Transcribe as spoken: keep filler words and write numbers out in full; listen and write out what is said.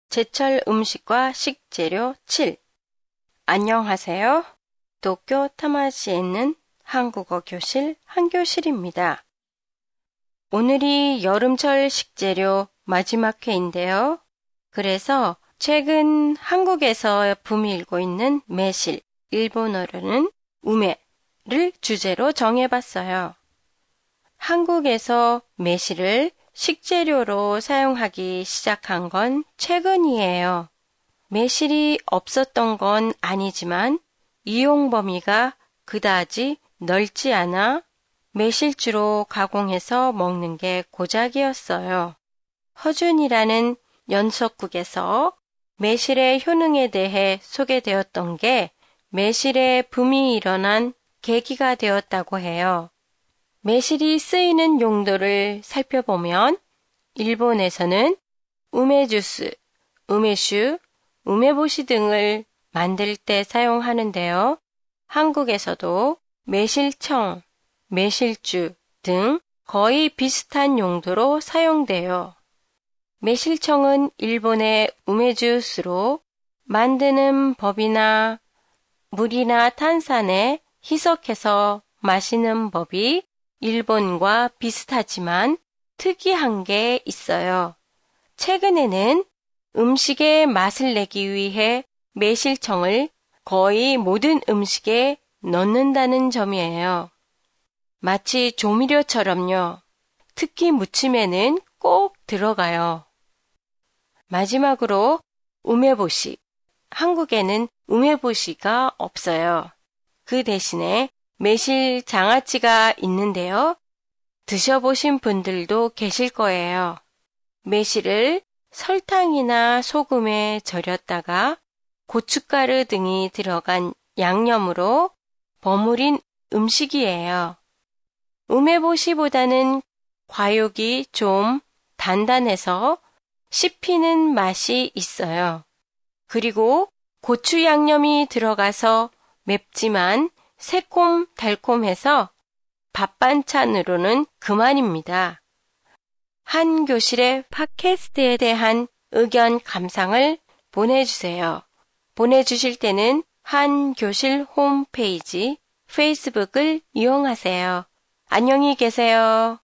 제철 음식과 식재료 칠. 안녕하세요. 도쿄 타마시에 있는 한국어 교실 한교실입니다. 오늘이 여름철 식재료 마지막 회인데요. 그래서 최근 한국에서 붐이 일고 있는 매실, 일본어로는 우메를 주제로 정해봤어요. 한국에서 매실을 식재료로 사용하기 시작한 건 최근이에요. 매실이 없었던 건 아니지만 이용 범위가 그다지 넓지 않아 매실주로 가공해서 먹는 게 고작이었어요. 허준이라는 연속극에서 매실의 효능에 대해 소개되었던 게 매실의 붐이 일어난 계기가 되었다고 해요. 매실이 쓰이는 용도를 살펴보면 일본에서는 우메주스, 우메슈, 우메보시 등을 만들 때 사용하는데요. 한국에서도 매실청, 매실주 등 거의 비슷한 용도로 사용돼요. 매실청은 일본의 우메주스로 만드는 법이나 물이나 탄산에 희석해서 마시는 법이 일본과 비슷하지만 특이한 게 있어요. 최근에는 음식에 맛을 내기 위해 매실청을 거의 모든 음식에 넣는다는 점이에요. 마치 조미료처럼요. 특히 무침에는 꼭 들어가요. 마지막으로 우메보시. 한국에는 우메보시가 없어요. 그 대신에 매실 장아찌가 있는데요. 드셔보신 분들도 계실 거예요. 매실을 설탕이나 소금에 절였다가 고춧가루 등이 들어간 양념으로 버무린 음식이에요. 우메보시보다는 과육이 좀 단단해서 씹히는 맛이 있어요. 그리고 고추 양념이 들어가서 맵지만 새콤달콤해서 밥 반찬으로는 그만입니다. 한 교실의 팟캐스트에 대한 의견 감상을 보내주세요. 보내주실 때는 한 교실 홈페이지, 페이스북을 이용하세요. 안녕히 계세요.